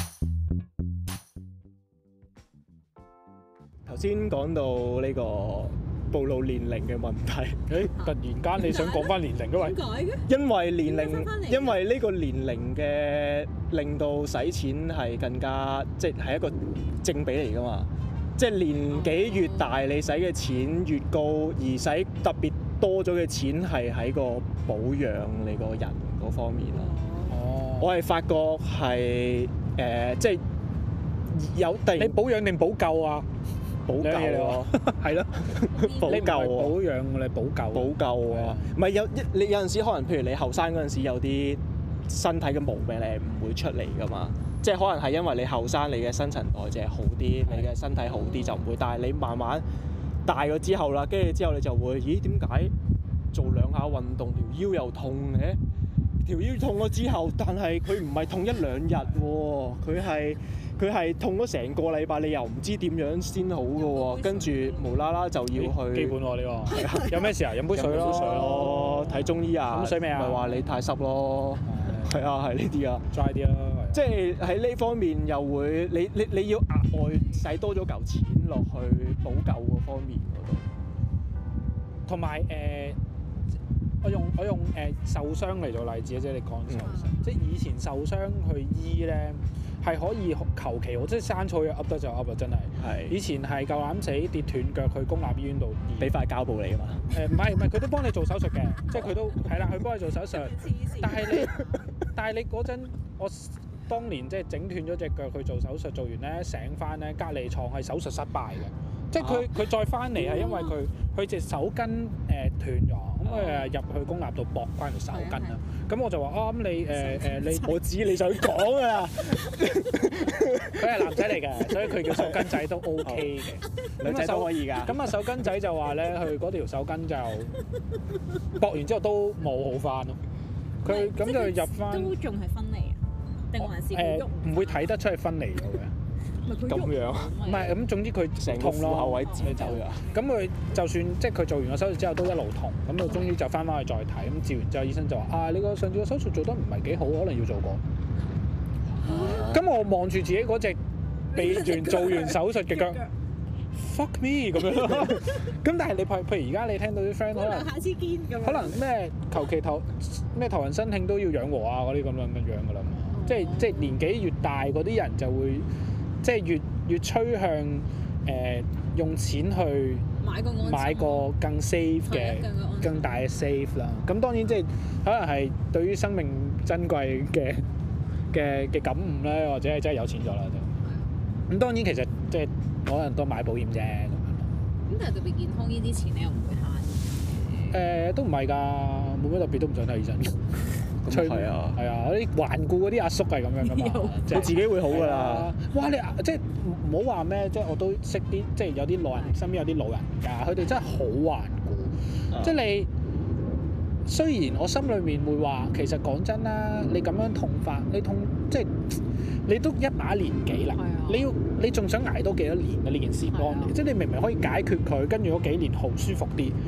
頭先講到呢個暴露年齡嘅問題， 突然間你想講翻年齡嘅位？點解嘅？ 因為呢個年齡嘅令到使錢係更加即係一個正比嚟㗎嘛，即係年紀越大，你使嘅錢越高，而使特別多咗嘅錢係喺個保養你個人嗰方面咯。哦，我係發覺係即係有突然你保養定補救啊？補救喎，係咯，補救喎，保養你補救。補救啊， 唔係你有陣時可能，譬如你後生嗰陣時有啲身體嘅毛病，你唔會出嚟噶嘛。即係可能係因為你後生，你嘅新陳代謝好啲，你嘅身體好啲就唔會。但係你慢慢大咗之後啦，跟住之後你就會，咦？點解做2下運動條腰又痛嘅？條腰痛咗之後，但係佢唔係痛1-2日喎，佢係痛咗成個禮拜，你又唔知點樣先好嘅喎，跟住無啦啦就要去。 基本喎呢個。有咩事啊？飲杯水咯。 睇中醫啊。 飲水未啊？ 咪話你太濕咯。係啊，係呢啲啊。 dry 啲啦。 即係喺呢方面又會，你要額外使多咗嚿錢落去補救嗰方面嗰度。 同埋我用受傷嚟做例子啊，即係你講受傷，即係以前受傷去醫咧係可以求其，即係生草藥噏得就噏啊，真係。係。以前係夠膽死跌斷腳去公立醫院度醫，俾塊膠布你㗎嘛？唔係，佢都幫你做手術嘅，即係佢都係啦，佢幫你做手術。但係你嗰陣，我當年即係整斷咗隻腳去做手術，做完咧醒翻咧，隔離牀係手術失敗嘅，即係佢再翻嚟係因為佢隻手筋斷咗。咁入去公立度駁翻條手筋啦，咁我就話咁你我知你想講啊， 佢係男仔嚟嘅，所以佢叫手筋仔都 OK 嘅， 女仔都可以㗎。 咁手筋仔就話咧，佢嗰條手筋就駁完之後都冇好翻咯，佢咁就入翻都仲係分離啊，定還是佢喐？ 唔會睇得出係分離咗嘅。 咁樣， 唔係咁，總之佢成個虎口位剪走咗。咁佢就算即係佢做完個手術之後都一路痛，咁到終於就翻去再睇，咁照完之後醫生就話你個上次個手術做得唔係幾好，可能要做過。咁我望住自己嗰隻做完手術嘅腳，fuck me 咁樣。咁但係你譬如而家你聽到啲 friend 可能下次見咁，可能咩求其頭暈身慶都要養和啊嗰啲咁樣㗎啦嘛。即係年紀越大嗰啲人就會。即係越趨向用錢去買個更 safe 嘅更大嘅 safe 啦。咁當然即係可能係對於生命珍貴嘅感悟咧，或者係真係有錢咗啦就。咁當然其實即係可能都買保險啫。 咁但係特別健康呢啲錢你又唔會慳？ 都唔係㗎，冇咩特別都唔想睇醫生。 係啊， 嗰啲頑固嗰啲阿叔係咁樣噶嘛， 佢自己會好噶啦。 哇！你即係唔好話咩，即係我都識啲，即係有啲老人身邊有啲老人家，佢哋真係好頑固。即係你雖然我心裏面會話，其實講真啦，你咁樣痛法，你痛即係你都一把年紀啦，你仲想捱多幾多年嘅呢件事幫你？即係你明明可以解決佢，跟住嗰幾年好舒服啲。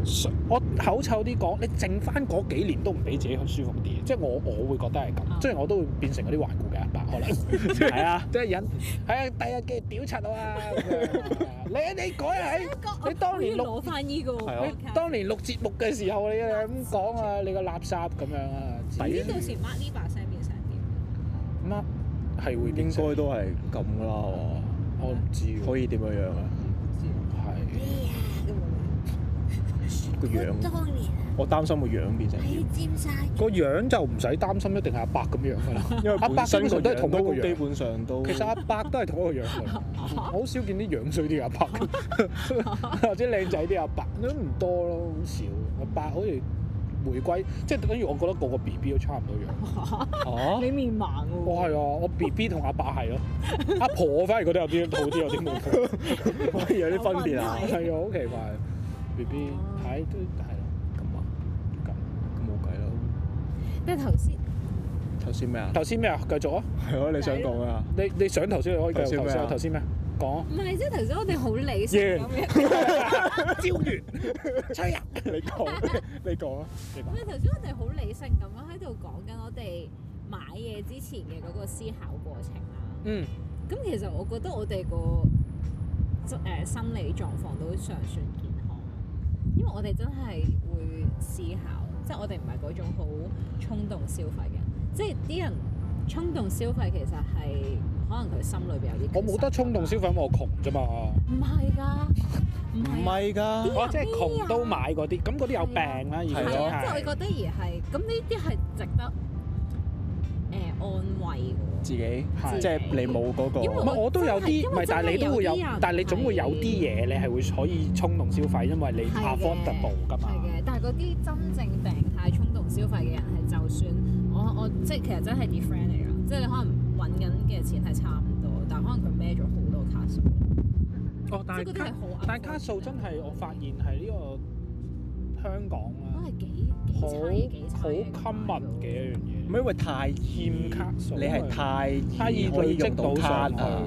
我口臭啲講，你剩翻嗰幾年都唔俾自己舒服啲，即係我會覺得係咁，雖然我都會變成嗰啲頑固嘅阿伯可能，係啊，即係人係啊，第日嘅屌柒我啊咁樣，你改喺你當年攞翻依個， 你當年錄節目嘅時候你咁講啊，你個垃圾咁樣啊， 唔知到時 Mark 呢把聲變成點 ？Mark 係會應該都係咁啦， 我唔知可以點樣樣啊？個樣，我擔心個樣變成個樣就唔使擔心，一定係阿伯咁樣噶啦。因為阿伯基本上都係同一個樣，基本上都。其實阿伯都係同一個樣㗎。我好少見啲樣衰啲阿伯，或者靚仔啲阿伯都唔多咯，好少。阿伯好似回歸，即係等於我覺得個 BB 都差唔多樣。 你面盲喎？ 我係啊，我 BB 同阿伯係咯，阿婆我反而覺得有啲好啲，有啲冇婆，反而有啲分別啊。係啊，好奇怪。BB 睇都係咯，咁冇計咯。 但係頭先咩啊？ 頭先咩啊？繼續啊！ 係咯，你想講咩啊？ 你想頭先你可以繼續頭先。頭先咩？講。 唔係，即係頭先我哋好理性咁樣。 招月，吹啊！你講啊！ 唔係頭先我哋好理性咁樣喺度講緊我哋買嘢之前嘅嗰個思考過程啦。咁其實我覺得我哋個心理狀況都尚算健康，因為我哋真係會思考，即係我哋唔係嗰種好衝動消費嘅，即係啲人衝動消費其實係可能佢心裏邊有啲。我冇得衝動消費，因為我窮啫嘛。 唔係㗎， 唔係㗎， 我即係窮都買嗰啲，咁嗰啲有病啦，而家係啊，即係我覺得而係咁呢啲係值得安慰喎。 自己即係你冇嗰個， 唔係我都有啲，唔係但係你都會有，但係你總會有啲嘢你係會可以衝動消費，因為你 affordable 㗎嘛。 係嘅，但係嗰啲真正病態衝動消費嘅人係就算我即係其實真係啲 friend 嚟㗎，即係你可能揾緊嘅錢係差唔多，但係可能佢孭咗好多卡數。 但係卡數真係我發現係呢個香港啦， 都係幾好 common 嘅一樣嘢。 因為太欠卡數，你係太易累積到卡啊！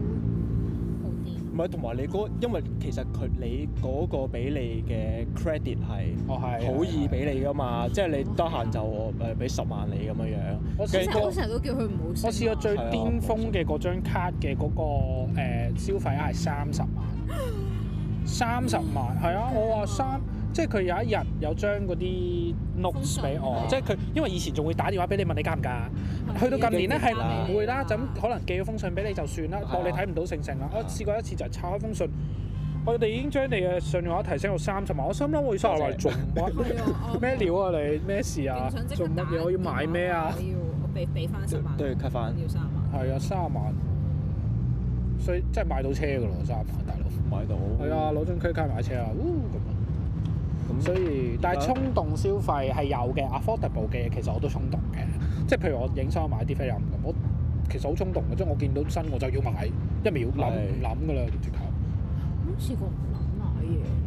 唔係同埋你因為其實你嗰個俾你嘅 credit 係好易俾你㗎嘛，即係你得閒就俾10萬你咁樣樣。 我成日都叫佢唔好。 我試過最巔峰嘅嗰張卡嘅嗰個消費額係30萬，30萬係啊！我話即係佢有一日有將嗰啲 notes 俾我，即係佢因為以前仲會打電話俾你問你加唔加，去到近年咧係唔會啦，就咁可能寄咗封信俾你就算啦，當你睇唔到成啦。我試過一次就係拆開封信，我哋已經將你嘅信用額提升到30萬，我心諗我要30萬做乜？咩料啊你？咩事啊？做乜嘢？我要買咩啊？ 我俾翻10萬， 都要 cut 翻。 要30萬。 係啊，30萬，所以真係買到車㗎咯，30萬大佬。 買到。係啊，攞張 credit 卡買車啊，咁所以，但係衝動消費係有嘅 ，affordable 嘅嘢其實我都衝動嘅，即係譬如我影相買啲菲林咁，我其實好衝動嘅，即係我見到新我就要買，一秒諗唔諗㗎啦，直頭。 冇試過唔諗買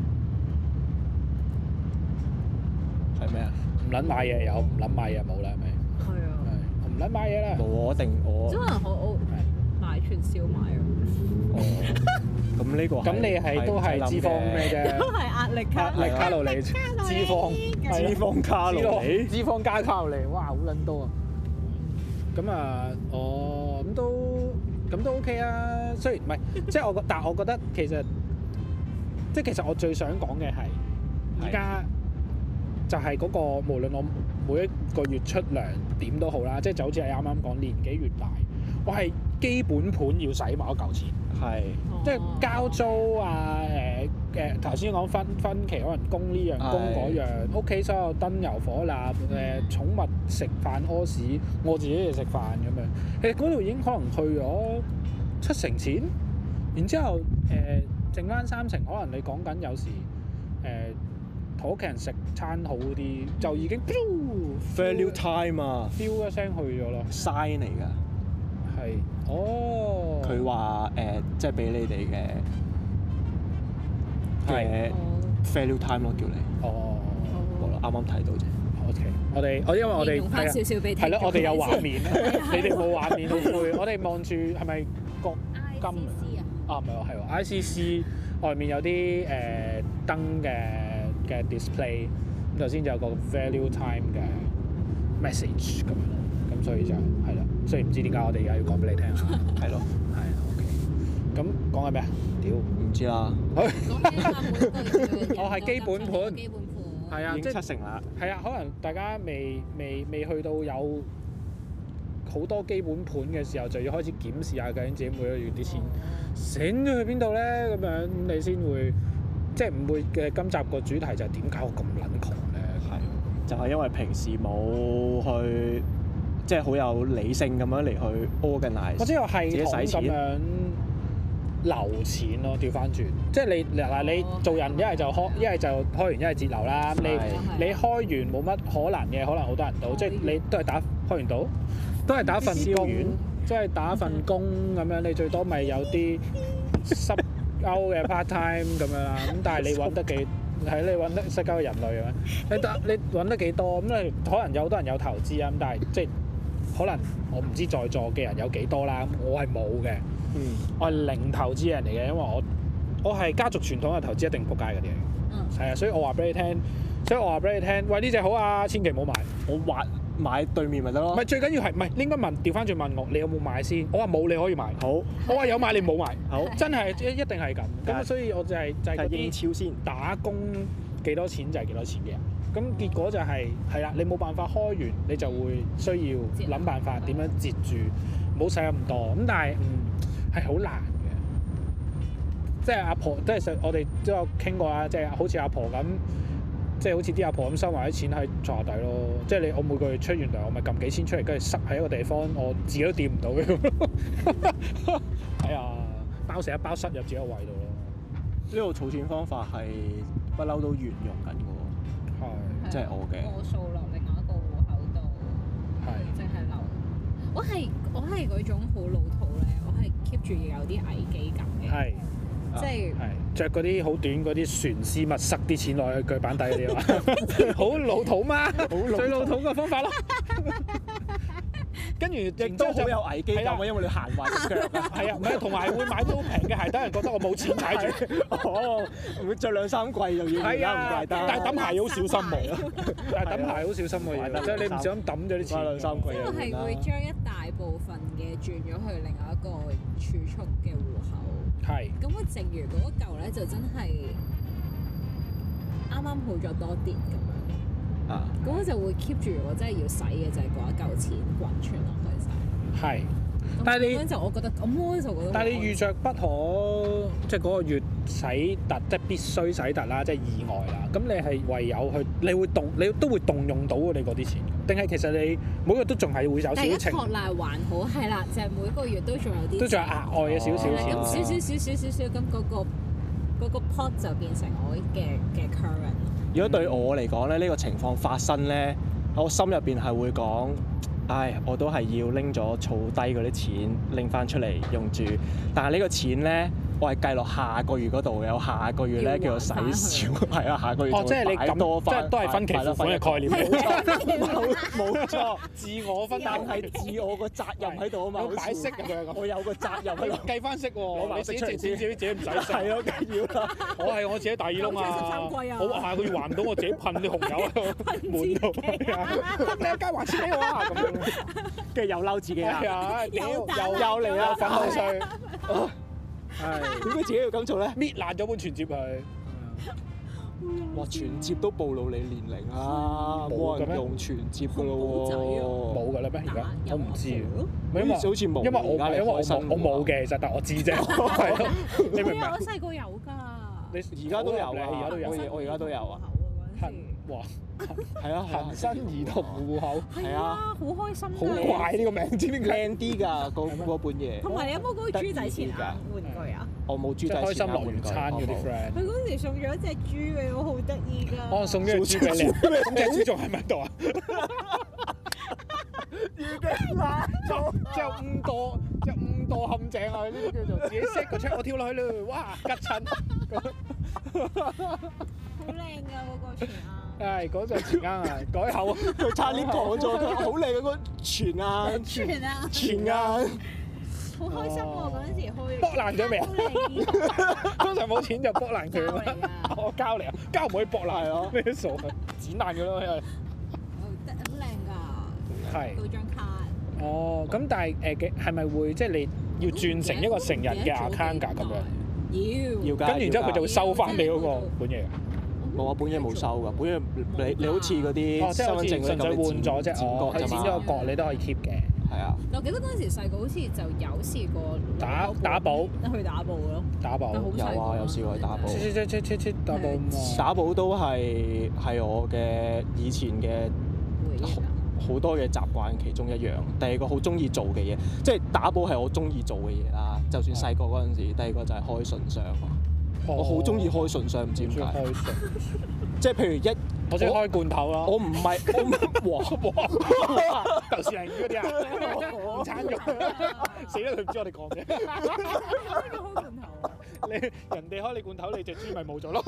嘢。係咩啊？唔撚買嘢有，唔撚買嘢冇啦，係咪？ 係啊。 係唔撚買嘢啦。冇我定我。 即係可能我買串燒賣啊。 咁呢個咁你係都係脂肪咩啫？ 都係壓力卡路里，脂肪卡路里，脂肪加卡路里，哇好撚多啊！咁啊，咁都 OK 啊。雖然唔係，即係但係我覺得其實我最想講嘅係，而家就係嗰個無論我每一個月出糧點都好啦，即係就好似你啱啱講年紀越大，我係基本盤要使埋一嚿錢。係，即係交租啊，頭先講分期，可能供呢樣供嗰樣，屋企所有燈油火蠟，寵物食飯屙屎，我自己嚟食飯咁樣，其實嗰度已經可能去咗70%錢，然之後剩翻30%，可能你講緊有時同屋企人食餐好啲，就已經 value time 啊 ，feel 一聲去咗啦 ，sign 嚟㗎。 係，哦。佢話即係俾你哋嘅 value time 咯，叫你。哦。我啱啱睇到啫。 OK，因為我哋用翻少少俾係咯，我哋有畫面，你哋冇畫面好攰。我哋望住係咪國金啊？啊，唔係喎，係喎 ，ICC 外面有啲燈嘅嘅 display， 咁頭先就有個 value time 嘅 message 咁樣，咁所以就係啦。雖然唔知點解我哋而家要講俾你聽啊，係咯，係 OK。咁講緊咩啊？屌，唔知啦。我係基本盤，係啊， 已經7成啦。 係啊，可能大家未去到有好多基本盤嘅時候，就要開始檢視下究竟自己每個月啲錢醒咗去邊度咧，咁樣你先會即係唔會嘅。今集個主題就係點解我咁撚窮咧？係就係因為平時冇去即係好有理性咁樣嚟去 organize， 或者有系統咁樣留錢咯。調翻轉，即係你做人一係就開，一係就開完一係節流啦。你開完冇乜可能嘅，可能好多人到，即係你都係開完到。都係打份工，即係打份工咁樣，你最多咪有啲濕鳩嘅 part time 咁樣啦。咁但係你揾得幾係你揾得濕鳩嘅人類啊？你揾得幾多？咁你可能有好多人有投資啊。咁但係即係可能我唔知在座嘅人有幾多啦。我係冇嘅，我係零投資人嚟嘅，因為我係家族傳統嘅投資一定仆街嗰啲嚟。係啊，所以我話俾你聽，喂呢隻好啊，千祈唔好買。 我買對面咪得咯。 唔係最緊要係唔係你應該調翻轉問我，你有冇買先？我話冇，你可以買。好。我話有買，你冇買。好。真係一定係咁。咁所以我就係嗰啲英超先打工幾多錢就係幾多錢嘅人。咁結果就係啦，你冇辦法開完，你就會需要諗辦法點樣截住，唔好使咁多。咁但係係好難嘅。即係阿婆，即係我哋都有傾過啊，即係好似阿婆咁。即係好似啲阿婆咁收埋啲錢喺床下底咯，即係我每個月出完糧，我咪撳幾千出嚟，跟住塞喺一個地方，我自己都掂唔到嘅咁。係啊，包成一包塞入自己個胃度咯。 呢個儲錢方法係不嬲都沿用緊嘅喎。係，即係我嘅。 過數落另外一個戶口度。係。淨係留。我係嗰種好老土咧，我係 keep 住要有啲危機感嘅。係。即係着嗰啲好短嗰啲船絲襪，塞啲錢落去腳板底嗰啲啊！好老土嗎？最老土嘅方法咯。跟住亦都好有危機感啊，因為你行壞隻腳啊。係啊，唔係同埋會買到好平嘅鞋，等人覺得我冇錢踩住。哦，會着2、3季就要而家唔怪得。但係揼鞋好小心喎。但係揼鞋好小心喎，即係你唔小心揼咗啲錢。2、3季又我係會將一大部分嘅轉咗去另外一個儲蓄嘅戶口。係，咁我剩餘嗰一嚿咧就真係啱啱好咗多啲咁樣，咁我就會 keep 住我真係要使嘅就係嗰一嚿錢滾存落去晒。係，但係你咁就我覺得咁我就覺得，但係你預着不可即係嗰個月使突，即係必須使突啦，即係意外啦。咁你係唯有去，你都會動用到你嗰啲錢，定係其實你每個月都仲係會有少少情。第一托賴還好係啦，就係每個月都仲有啲，都仲有額外嘅少少錢。咁少，咁嗰個 pot 就變成我嘅 current。如果對我嚟講咧，呢個情況發生咧，我心入邊係會講。唉，我都係要拎咗儲低嗰啲錢，拎翻出嚟用住。但係呢個錢咧，我係計落下個月嗰度，有下個月咧叫做使少，係啊，下個月就會擺多翻。即係都係分期付款嘅概念。冇錯，自我分，但係自我個責任喺度啊嘛。擺息咁樣，我有個責任喺度計翻息喎。你自己自己唔使息。係咯，梗要啦。我係我自己大耳窿啊！我下個月還唔到，我自己噴啲紅油喺度滿度。你一間還錢俾我啊！咁樣。跟住又嬲自己啦，又嚟啦，粉紅稅，係點解自己要咁做咧？搣爛咗本存摺佢，哇！存摺都暴露你年齡啦，冇人用存摺噶咯喎，冇噶啦咩？而家我唔知，因為好似冇，因為我冇嘅，其實但我知啫，係咯，你明唔明？我細個有㗎，你而家都有啊？我而家都有啊。哇，係啊，恒生兒童戶口，係啊，好開心，好怪呢個名，知唔知靚啲㗎嗰本嘢？同埋你有冇嗰個豬仔錢硬玩具啊？我冇豬仔錢硬玩具。開心樂園餐嗰啲 friend，佢嗰時送咗一隻豬俾我，好得意㗎。我送咗隻豬俾你，咁隻豬仲喺咪度啊？已經爛咗，即係誤墮陷阱啊！呢啲叫做自己 set 個出，我跳落去啦，哇，吉親，好靚㗎嗰個錢啊！係嗰隻錢罌啊，改口啊！佢差啲講咗，佢好靚嗰個錢罌，錢罌， 好開心喎！嗰陣時開卜爛咗未啊？通常冇錢就卜爛佢啊！我膠嚟啊，膠唔可以卜爛咯，咩傻啊？剪爛佢咯，因為好靚㗎， 係嗰張卡。 哦，咁但係係咪會即係你要轉成一個成人嘅 account 㗎咁樣？ 要， 跟住之後佢就會收翻你嗰個本嘢。 冇啊，本嘢冇收㗎，本嘢你好似嗰啲身份證嗰啲咁， 換咗啫， 佢剪咗個角你都可以 keep 嘅。係啊。 我記得嗰陣時細個好似就有試過打寶， 去打寶咯。打寶有啊，有試過去打寶。 打寶。 打寶都係我嘅以前嘅好多嘅習慣其中一樣。第二個好中意做嘅嘢，即係打寶係我中意做嘅嘢啦。就算細個嗰陣時，第二個就係開信箱。我好中意開信箱，唔知點解。即係譬如我中意開罐頭咯。我唔係，哇！豆豉鯪魚嗰啲啊，午餐肉，死啦！佢唔知我哋講咩。開罐頭。人哋開你罐頭，你隻豬咪冇咗咯。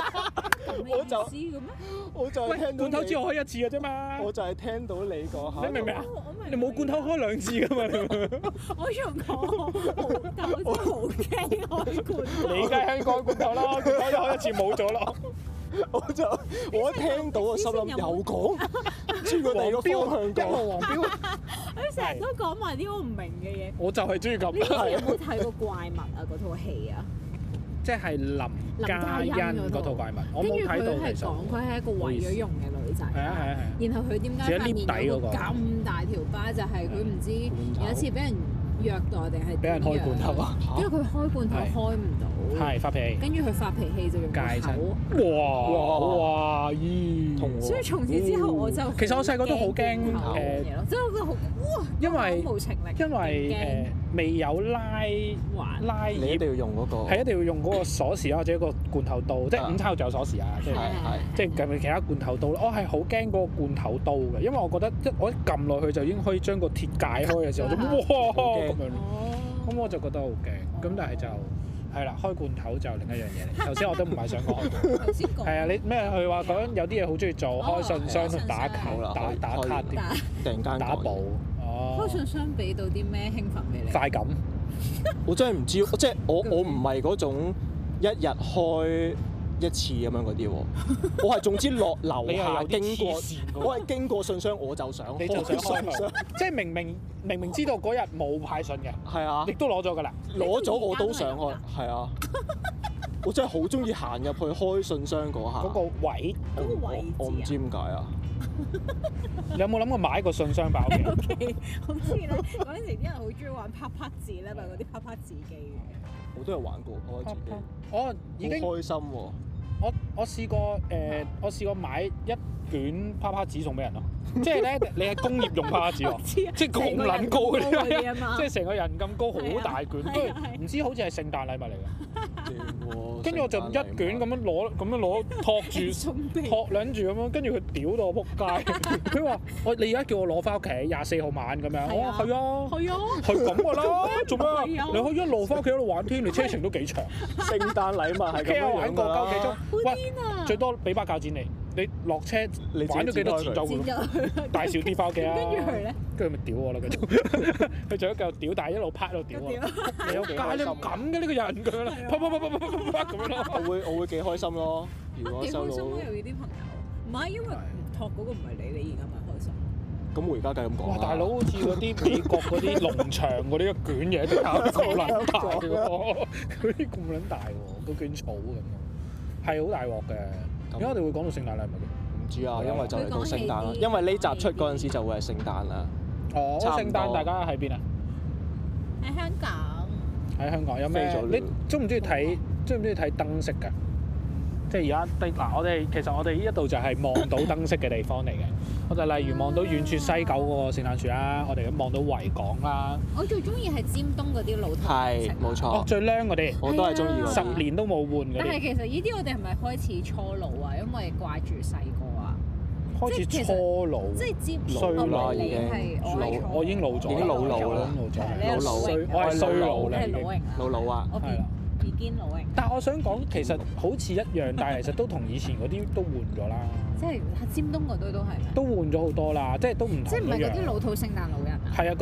我就係聽到罐頭只開一次嘅啫嘛。我就係聽到你講下。你明唔明啊？你冇罐頭開兩次㗎嘛？ 我仲講豆豉好驚開罐頭。 你梗係開罐頭啦，罐頭一開一次冇咗咯。我一聽到我心諗又講，轉個第二個方向講。黃標。 佢成日都講埋啲我唔明嘅嘢。 我就係中意咁。 你有冇睇過怪物啊？嗰套戲啊？ 即係林嘉欣嗰套怪物，我冇睇到。 跟住佢係講佢係一個毀咗容嘅女仔。係啊。然後佢點解塊面有個咁大條疤？就係佢唔知有一次俾人虐待定係俾人開罐頭啊？因為佢開罐頭開唔到。係發脾氣。跟住佢發脾氣就用口。哇！咦！所以從此之後我就其實我細個都好驚即係我覺得好哇！因為無情力。因為未有拉葉， 你一定要用嗰個。 係一定要用嗰個鎖匙或者一個罐頭刀，即係午餐肉就有鎖匙啊！即係其他罐頭刀。我係好驚嗰個罐頭刀嘅，因為我覺得我一撳落去就已經可以將個鐵解開嘅時候，我就哇咁樣。咁我就覺得好驚。咁但係就係啦，開罐頭就另一樣嘢嚟。頭先我都唔係想講。頭先講。係啊，你咩？佢話講有啲嘢好中意做，開信箱同打卡、打卡啲， 突然間打寶。 開信箱俾到啲咩興奮俾你？ 快感。 我真係唔知，即係我唔係嗰種一日開一次咁樣嗰啲喎。我係總之落樓下經過，我係經過信箱我就想開信箱。 即係明明知道嗰日冇派信嘅， 係啊， 亦都攞咗㗎啦。攞咗我都想開，係啊。我真係好中意行入去開信箱嗰下。嗰個位，我唔知點解啊。 你有冇諗過買個信箱包嘅？ 好似咧，嗰陣時啲人好中意玩啪啪字咧，咪嗰啲啪啪字機嘅。 我都有玩過啪啪字機。 我已經好開心喎！ 我試過我試過買一卷啪啪紙送俾人咯。即係咧，你係工業用啪啪紙喎，即係咁撚高嗰啲，即係成個人咁高，好大卷，跟住唔知好似係聖誕禮物嚟㗎。跟住我就一卷咁樣攞托住托撚住咁樣，跟住佢屌到我仆街。佢話：你而家叫我攞翻屋企24號晚咁樣。我話係啊，係咁㗎啦，做咩啊？你可以一路翻屋企一路玩添，你車程都幾長。聖誕禮物係咁樣玩過鳩幾鐘。喂，最多俾把鉸剪你落車玩咗幾多錢就大少啲翻屋企啊！跟住佢咧，跟住咪屌我啦！佢仲一嚿屌，但係一路拍一路屌我。你有幾開心？咁嘅呢個人咁樣啦，啪咁樣咯。我會幾開心咯。如果收到，幾開心咯！有啲朋友唔係因為托嗰個唔係你而家咪開心。咁我而家梗係咁講。哇！大佬好似嗰啲美國嗰啲農場嗰啲卷嘢都咁撚大嘅喎，嗰啲咁撚大喎，個卷草咁，係好大鑊嘅。點解我哋會講到聖誕禮物嘅？ 唔知啊，因為就嚟到聖誕啦。因為呢集出嗰陣時就會係聖誕啦。 哦，聖誕大家喺邊啊？ 喺香港。 喺香港有咩？你中唔中意睇燈飾㗎？即係而家其實我哋呢一度就係望到燈飾嘅地方嚟嘅。我就例如望到遠處西九嗰個聖誕樹啦，我哋望到維港啦。我最中意係尖東嗰啲露台燈飾。係，冇錯。哦，最靚嗰啲。我都係中意嗰啲。10年都冇換嗰啲。但係其實呢啲我哋係咪開始初老啊？因為掛住細個啊。開始初老。即係尖衰啦已經。我已經老咗。已經老啦。我係衰老啦。你係老型啊？老啊。係啦。已經老型。但係我想講，其實好似一樣，但係其實都同以前嗰啲都換咗啦。即係尖東嗰堆都係。都換咗好多啦，即係都唔同。即係唔係嗰啲老土聖誕老人啊？係啊，嗰啲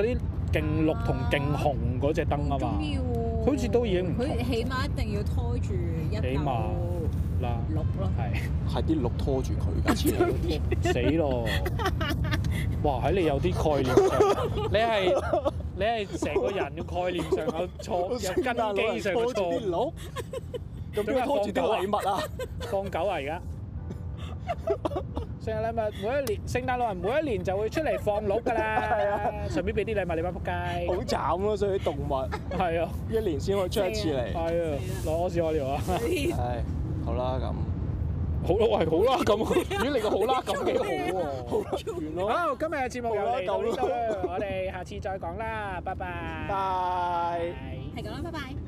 勁綠同勁紅嗰隻燈啊嘛，好似都已經唔同。 佢起碼一定要拖住一嚿啦綠咯， 係啲綠拖住佢㗎， 死咯！哇！喺你有啲概念上，你係成個人嘅概念上有錯，有根基上嘅錯誤。咁點解拖住啲禮物啊？放狗啊！而家聖誕禮物每一年，聖誕老人每一年就會出嚟放鹿㗎啦，順便俾啲禮物你班仆街。 好慘咯，所以啲動物係啊， 一年先可以出一次嚟。 係啊，攞屎屙尿啊！ 係，好啦咁。 好啦，喂，好啦咁，如果你個好啦咁幾好喎。 好啦，完咯。 好，今日嘅節目又嚟到呢度，我哋下次再講啦，拜拜。 拜。 係咁啦，拜拜。